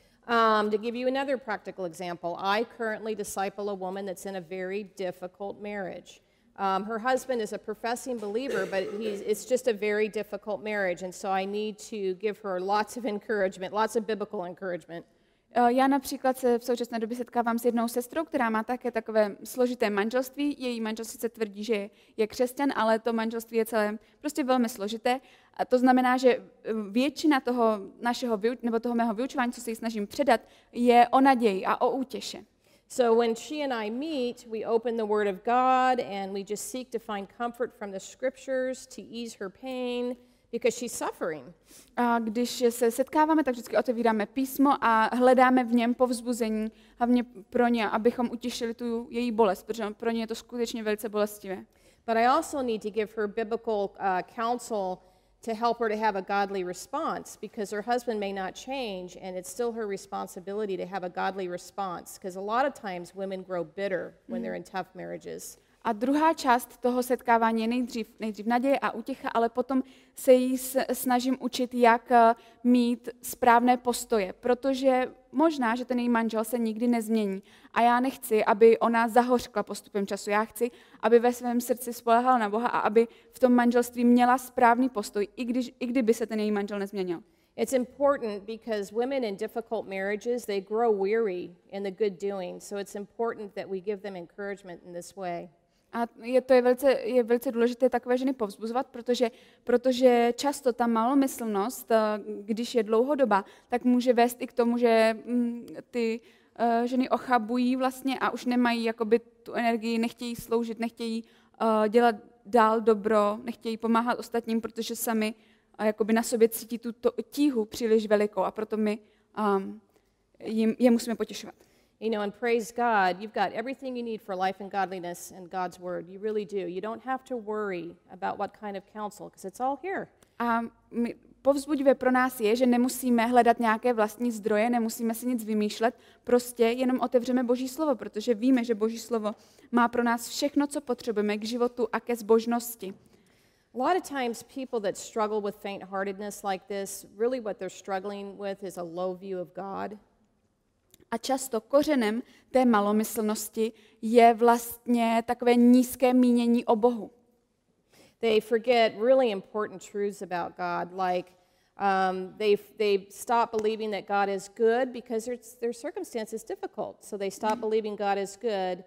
Um, to give you another practical example, I currently disciple a woman that's in a very difficult marriage. Um, her husband is a professing believer, but he's, it's just a very difficult marriage, and so I need to give her lots of encouragement, lots of biblical encouragement. Já například se v současné době setkávám s jednou sestrou, která má také takové složité manželství. Její manžel sice tvrdí, že je křesťan, ale to manželství je celé prostě velmi složité. A to znamená, že většina toho našeho nebo toho mého vyučování, co se jí snažím předat, je o naději a o útěše. So when she and I meet, we open the Word of God and we just seek to find comfort from the Scriptures to ease her pain, because she's suffering. A když se setkáváme, tak vždycky otevíráme písmo a hledáme v něm povzbuzení, hlavně pro ně, abychom utěšili tu její bolest, protože pro ně je to skutečně velice bolestivé. But I also need to give her biblical uh, counsel to help her to have a godly response, because her husband may not change, and it's still her responsibility to have a godly response, because a lot of times women grow bitter when they're in tough marriages. A druhá část toho setkávání je nejdřív, nejdřív naděje a útěcha, ale potom se jí snažím učit, jak mít správné postoje, protože možná, že ten její manžel se nikdy nezmění. A já nechci, aby ona zahořkla postupem času. Já chci, aby ve svém srdci spoléhala na Boha a aby v tom manželství měla správný postoj, i, když, i kdyby se ten její manžel nezměnil. It's important because women in difficult marriages, they grow weary in the good doing. So it's important that we give them encouragement in this way. A je, to je, velice, je velice důležité takové ženy povzbuzovat, protože, protože často ta malomyslnost, když je dlouhodobá, tak může vést i k tomu, že mm, ty uh, ženy ochabují vlastně a už nemají jakoby tu energii, nechtějí sloužit, nechtějí uh, dělat dál dobro, nechtějí pomáhat ostatním, protože sami uh, jakoby na sobě cítí tu to, tíhu příliš velikou a proto my um, jim, je musíme potěšovat. You know, and praise God, you've got everything you need for life and godliness in God's Word. You really do. You don't have to worry about what kind of counsel, because it's all here. A my, povzbudivé pro nás je, že nemusíme hledat nějaké vlastní zdroje, nemusíme si nic vymýšlet, prostě jenom otevřeme Boží slovo, protože víme, že Boží slovo má pro nás všechno, co potřebujeme k životu a ke zbožnosti. A lot of times people that struggle with faint-heartedness like this, really what they're struggling with is a low view of God. A často kořenem té malomyslnosti je vlastně takové nízké mínění o Bohu. They forget really important truths about God, like um, they, they stop believing that God is good because their, their circumstance is difficult. So they stop believing God is good,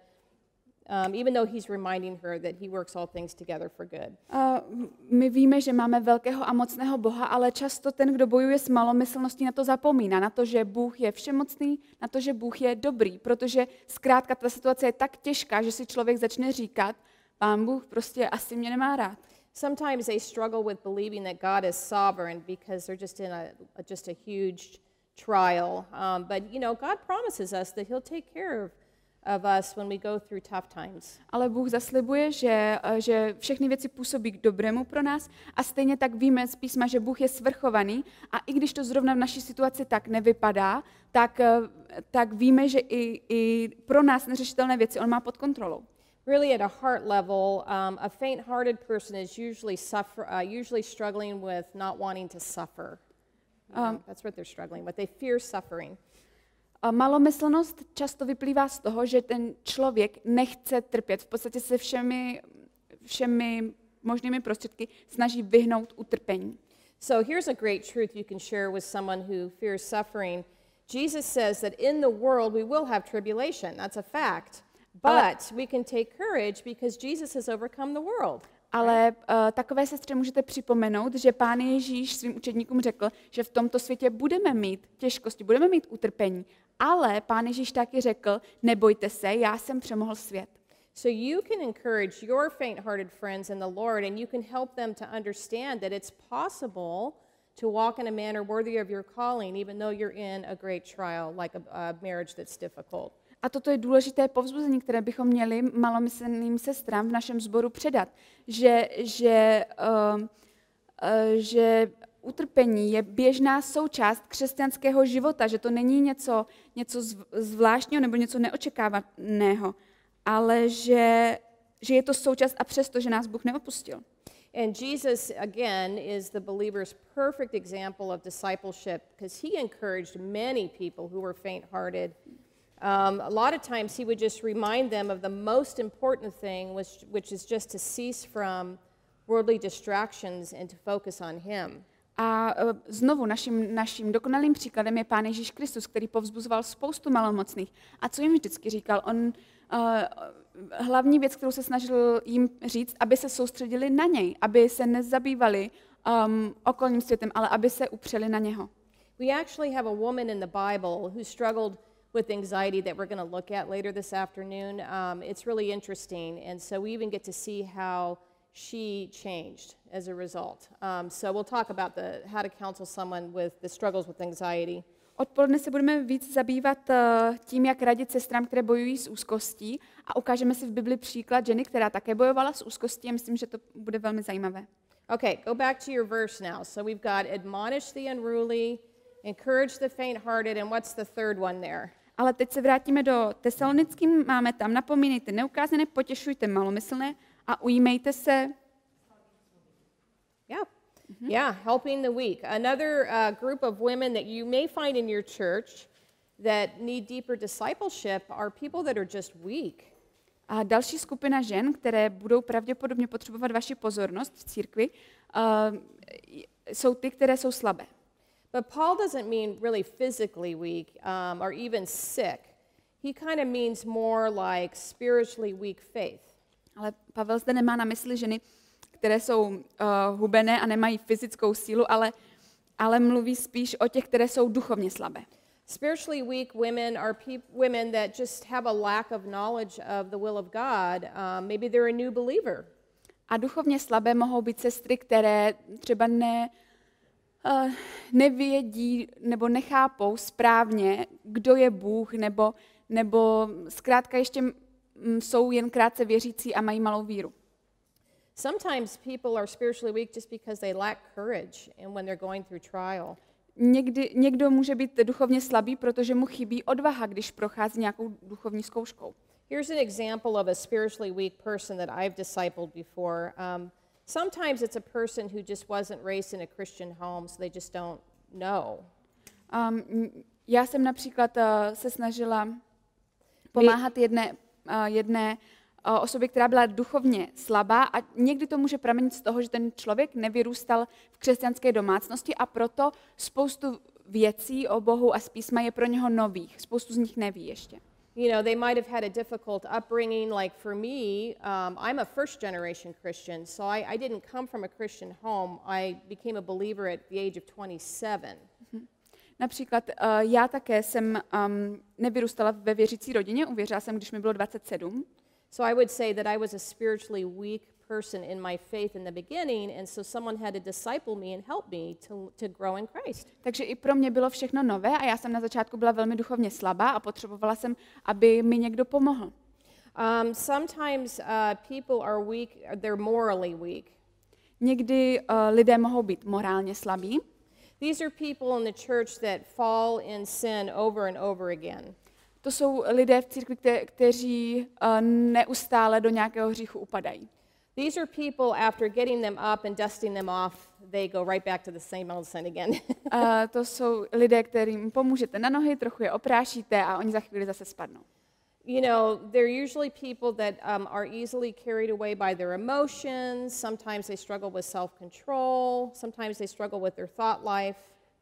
um, even though he's reminding her that he works all things together for good. Uh, my víme, že máme velkého a mocného Boha, ale často ten, kdo bojuje s malomyslností, na to zapomíná, na to, že Bůh je všemocný, na to, že Bůh je dobrý, protože zkrátka ta situace je tak těžká, že si člověk začne říkat, Pán Bůh prostě asi mě nemá rád. Sometimes they struggle with believing that God is sovereign because they're just in a, a just a huge trial. Um, but you know, God promises us that he'll take care of of us when we go through tough times. Ale Bůh zaslibuje, že, že všechny věci působí k dobrému pro nás a stejně tak víme z písma, že Bůh je svrchovaný a i když to zrovna v naší situaci tak nevypadá, tak, tak víme, že i, i pro nás neřešitelné věci on má pod kontrolou. Really at a heart level, um, a faint-hearted person is usually suffer, uh, usually struggling with not wanting to suffer. You know, um, that's what they're struggling with. They fear suffering. Malomyslnost často vyplývá z toho, že ten člověk nechce trpět. V podstatě se všemi, všemi možnými prostředky snaží vyhnout utrpení. So here's a great truth you can share with someone who fears suffering. Jesus says that in the world we will have tribulation. That's a fact. But we can take courage because Jesus has overcome the world. Ale uh, takové sestře můžete připomenout, že Pán Ježíš svým učedníkům řekl, že v tomto světě budeme mít těžkosti, budeme mít utrpení. Ale Pán Ježíš taky řekl, nebojte se, já jsem přemohl svět. So you can encourage your faint-hearted friends in the Lord and you can help them to understand that it's possible to walk in a manner worthy of your calling even though you're in a great trial like a, a marriage that's difficult. A toto je důležité povzbuzení, které bychom měli malomyslným sestrám v našem sboru předat, že, že, uh, uh, že utrpení je běžná součást křesťanského života, že to není něco, něco zvláštního nebo něco neočekávaného, ale že, že je to součást a přesto, že nás Bůh neopustil. And Jesus, again, is the believer's perfect example of discipleship because he encouraged many people who were faint-hearted. Um, a lot of times he would just remind them of the most important thing, which, which is just to cease from worldly distractions and to focus on him. A znovu naším, naším dokonalým příkladem je Pán Ježíš Kristus, který povzbuzoval spoustu malomocných. A co jim vždycky říkal? On uh, hlavní věc, kterou se snažil jim říct, aby se soustředili na něj, aby se nezabývali um, okolním světem, ale aby se upřeli na něho. We actually have a woman in the Bible who struggled with anxiety that we're going to look at later this afternoon. Um, it's really interesting, and so we even get to see how she changed as a result. Um, so we'll talk about the how to counsel someone with the struggles with anxiety. Odpoledne se budeme víc zabývat uh, tím, jak radit sestrám, které bojují s úzkostí, a ukážeme si v Bibli příklad ženy, která také bojovala s úzkostí, a myslím, že to bude velmi zajímavé. Okay, go back to your verse now. So we've got admonish the unruly, encourage the faint-hearted, and what's the third one there? Ale teď se vrátíme do Tesalonickým, máme tam napomínejte neukázané, potěšujte malomyslné a ujímejte se. Yeah. Mm-hmm. Yeah, helping the weak. Another uh, group of women that you may find in your church that need deeper discipleship are people that are just weak. A další skupina žen, které budou pravděpodobně potřebovat vaši pozornost v církvi, uh, jsou ty, které jsou slabé. But Paul doesn't mean really physically weak um, or even sick. He kind of means more like spiritually weak faith. Ale Pavel zde nemá na mysli ženy, které jsou uh, hubené a nemají fyzickou sílu, ale, ale mluví spíš o těch, které jsou duchovně slabé. Spiritually weak women are peop- women that just have a lack of knowledge of the will of God. Um, maybe they're a new believer. A duchovně slabé mohou být sestry, které třeba ne, uh, nevědí nebo nechápou správně, kdo je Bůh, nebo, nebo zkrátka ještě m, jsou jen krátce věřící a mají malou víru. Sometimes people are spiritually weak just because they lack courage and when they're going through trial. Někdy, někdo může být duchovně slabý, protože mu chybí odvaha, když prochází nějakou duchovní zkouškou. Here's an example of a spiritually weak person that I've discipled before. Um, sometimes it's a person who just wasn't raised in a Christian home, so they just don't know. Um, já jsem například uh, se snažila pomáhat jedné, uh, jedné uh, osobě, která byla duchovně slabá, a někdy to může pramenit z toho, že ten člověk nevyrůstal v křesťanské domácnosti a proto spoustu věcí o Bohu a z písma je pro něho nových. Spoustu z nich neví ještě. You know, they might have had a difficult upbringing. Like for me, um, I'm a first generation Christian, so I, I didn't come from a Christian home. I became a believer at the age of twenty-seven. Mm-hmm. Například uh, já také jsem um, nevyrůstala ve věřící rodině, uvěřila jsem, když mi bylo dvacet sedm. So I would say that I was a spiritually weak person in my faith in the beginning, and so someone had to disciple me and help me to, to grow in Christ. Takže i pro mě bylo všechno nové a já jsem na začátku byla velmi duchovně slabá a potřebovala jsem, aby mi někdo pomohl. Um, sometimes uh, people are weak, they're morally weak. Někdy uh, lidé mohou být morálně slabí. These are people in the church that fall in sin over and over again. To jsou lidé v církvi, kte- kteří uh, neustále do nějakého hříchu upadají. These are people, after getting them up and dusting them off, they go right back to the same old sin again. uh, to jsou lidé, kterým pomůžete na nohy, trochu je oprášíte a oni za chvíli zase spadnou. You know, they're usually people that um, are easily carried away by their emotions. Sometimes they struggle with self-control. Sometimes they struggle with their thought life.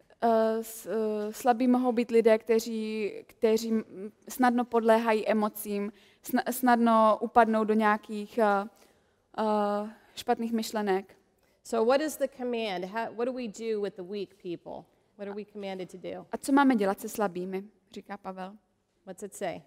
Uh, s, uh, slabí mohou být lidé, kteří, kteří snadno podléhají emocím, sna, snadno upadnou do nějakých uh, uh, špatných myšlenek. So what is the command? How, what do we do with the weak people? What are we commanded to do? A co máme dělat se slabými, říká Pavel. What's it say?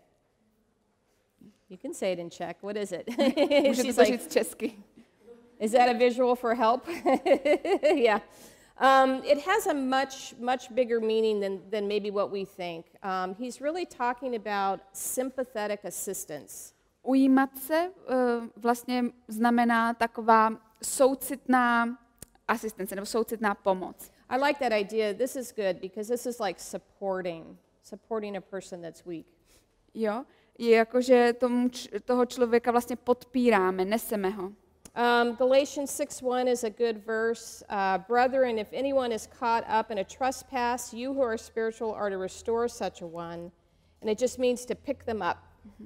You can say it in Czech. What is it? Můžete to říct česky. Is that a visual for help? Yeah. Um, it has a much, much bigger meaning than, than maybe what we think. Um, he's really talking about sympathetic assistance. Ujímat se uh, vlastně znamená taková soucitná asistence nebo soucitná pomoc. I like that idea. This is good because this is like supporting, supporting a person that's weak. Jo, je jako, že tomu, toho člověka vlastně podpíráme, neseme ho. Um, Galatians six one is a good verse. Uh, Brethren, if anyone is caught up in a trespass, you who are spiritual are to restore such a one. And it just means to pick them up.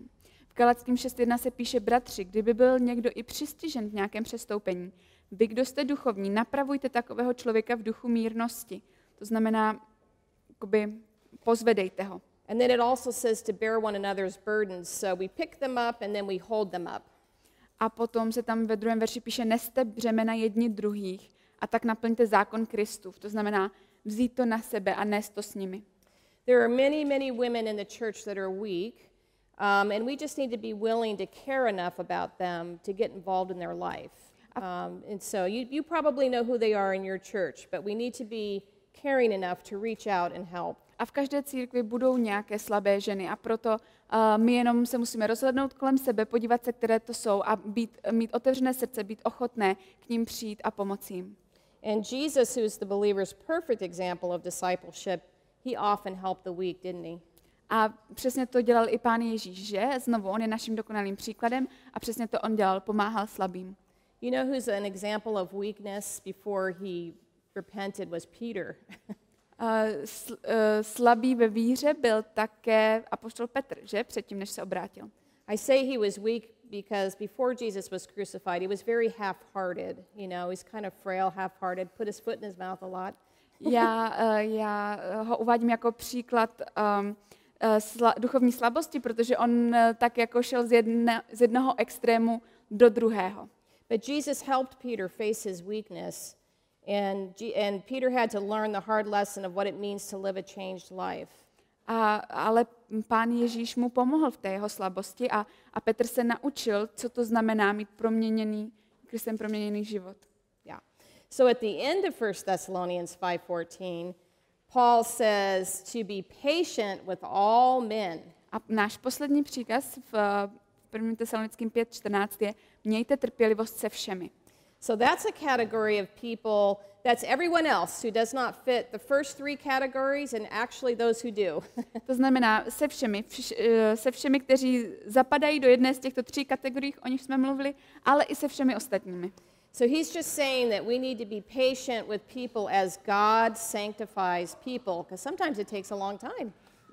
V Galackým šest jedna se píše, bratři, kdyby byl někdo i přistižen v nějakém přestoupení, vy, kdo jste duchovní, napravujte takového člověka v duchu mírnosti. To znamená, jakoby, pozvedejte ho. And then it also says to bear one another's burdens. So we pick them up and then we hold them up. A potom se tam ve druhém verši píše, neste břemena jedni druhých a tak naplňte zákon Kristův. To znamená vzít to na sebe a nést to s nimi. There are many, many women in the church that are weak, um, and we just need to be willing to care enough about them to get involved in their life. Um, and so you, you probably know who they are in your church, but we need to be caring enough to reach out and help. A v každé církvi budou nějaké slabé ženy a proto uh, my jenom se musíme rozhlednout kolem sebe, podívat se, které to jsou a být, mít otevřené srdce, být ochotné k ním přijít a pomoci jim. And Jesus, who is the believer's perfect example of discipleship, he often helped the weak, didn't he? A přesně to dělal i Pán Ježíš, že? Znovu, on je naším dokonalým příkladem a přesně to on dělal, pomáhal slabým. You know who's an example of weakness before he repented was Peter. Uh, sl, uh, slabý ve víře byl také apoštol Petr, že? Předtím, než se obrátil. I say he was weak because before Jesus was crucified, he was very half-hearted. You know, he's kind of frail, half-hearted, put his foot in his mouth a lot. já, uh, já ho uvádím jako příklad um, uh, sla, duchovní slabosti, protože on uh, tak jako šel z, jedna, z jednoho extrému do druhého. But Jesus helped Peter face his weakness. And, G- and Peter had to learn the hard lesson of what it means to live a changed life. A, ale Pán Ježíš mu pomohl v té jeho slabosti a, a Petr se naučil, co to znamená mít proměněný, Kristem proměněný život. Yeah. So at the end of First Thessalonians five fourteen, Paul says to be patient with all men. A náš poslední příkaz v prvním Tesalonickým pět čtrnáct je mějte trpělivost se všemi. So that's a category of people, that's everyone else who does not fit the first three categories and actually those who do. To znamená se všemi, vš, se všemi, kteří zapadají do jedné z těchto tří kategorií, o nich jsme mluvili, ale i se všemi ostatními. So he's just saying that we need to be patient with people as God sanctifies people, because sometimes it takes a long time.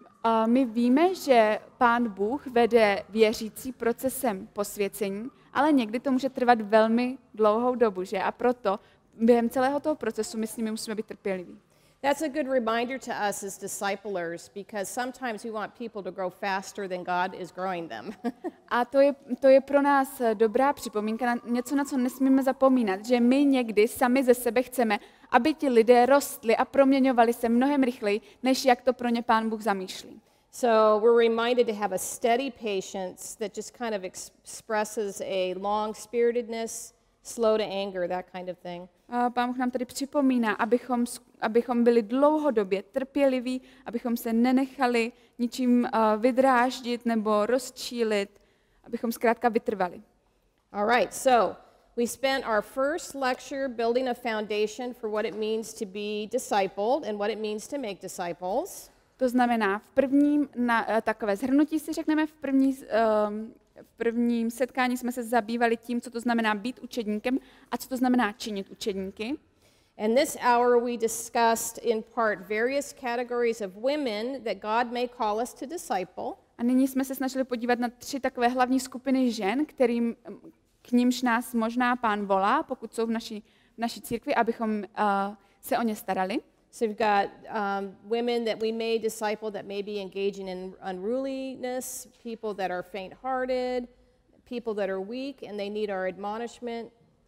A my víme, že Pán Bůh vede věřící procesem posvěcení, ale někdy to může trvat velmi dlouhou dobu, že? A proto během celého toho procesu my s nimi musíme být trpěliví. That's a good reminder to us as disciplers, because sometimes we want people to grow faster than God is growing them. A to je, to je pro nás dobrá připomínka, na něco, na co nesmíme zapomínat, že my někdy sami ze sebe chceme, aby ti lidé rostli a proměňovali se mnohem rychleji, než jak to pro ně Pán Bůh zamýšlí. So we're reminded to have a steady patience that just kind of expresses a long-spiritedness, slow to anger, that kind of thing. A Pán Bůh nám tady připomíná, abychom, abychom byli dlouhodobě trpěliví, abychom se nenechali ničím uh, vydráždit nebo rozčílit, abychom zkrátka vytrvali. All right, so we spent our first lecture building a foundation for what it means to be discipled and what it means to make disciples. To znamená, v prvním, na, uh, takové shrnutí si řekneme, v první, um, v prvním setkání jsme se zabývali tím, co to znamená být učedníkem a co to znamená činit učedníky. And this hour we discussed in part various categories of women that God may call us to disciple. A nyní jsme se snažili podívat na tři takové hlavní skupiny žen, kterým, k nímž nás možná Pán volá, pokud jsou v naší, v naší církvi, abychom uh, se o ně starali. So we've got um, women that we may disciple that may be engaging in unruliness, people that are faint-hearted, people that are weak and they need our admonishment,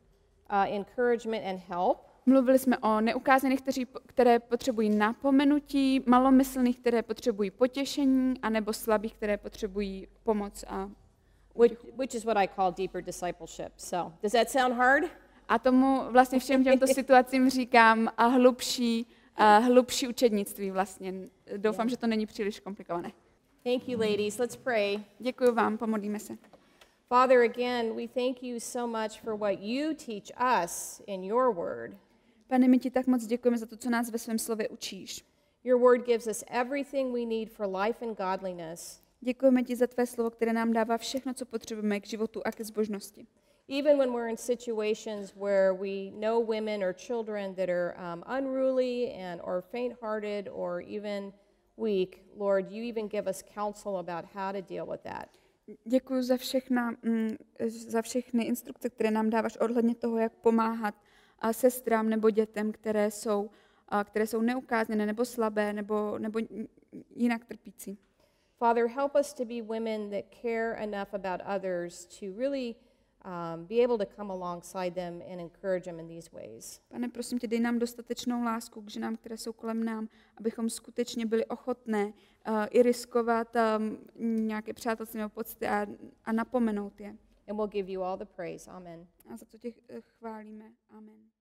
uh, encouragement and help. Mluvili jsme o neukázaných, kteří, které potřebují napomenutí, malomyslných, které potřebují potěšení, anebo slabých, které potřebují pomoc. A which, which is what I call deeper discipleship. So, does that sound hard? A tomu vlastně všem těmto situacím říkám a hlubší, a hlubší učednictví vlastně. Doufám, že to není příliš komplikované. Thank you, ladies. Let's pray. Děkuji vám, pomodlíme se. Father, again, we thank you so much for what you teach us in your word. Pane, my ti tak moc děkujeme za to, co nás ve svém slově učíš. Your word gives us everything we need for life and godliness. Děkujeme ti za tvé slovo, které nám dává všechno, co potřebujeme k životu a ke zbožnosti. Even when we're in situations where we know women or children that are um, unruly and or faint-hearted or even weak, Lord, you even give us counsel about how to deal with that. Děkuji za všechna, mm, za všechny instrukce, které nám dáváš ohledně toho, jak pomáhat a sestrám nebo dětem, které jsou, a, které jsou neukázněné nebo slabé nebo, nebo jinak trpící. Father, help us to be women that care enough about others to really um, be able to come alongside them and encourage them in these ways. Pane, prosím tě, dej nám dostatečnou lásku k ženám, které jsou kolem nám, abychom skutečně byli ochotné uh, i riskovat um, nějaké přátelství nebo pocity a, a napomenout je. And we'll give you all the praise. Amen. A za to tě chválíme. Amen.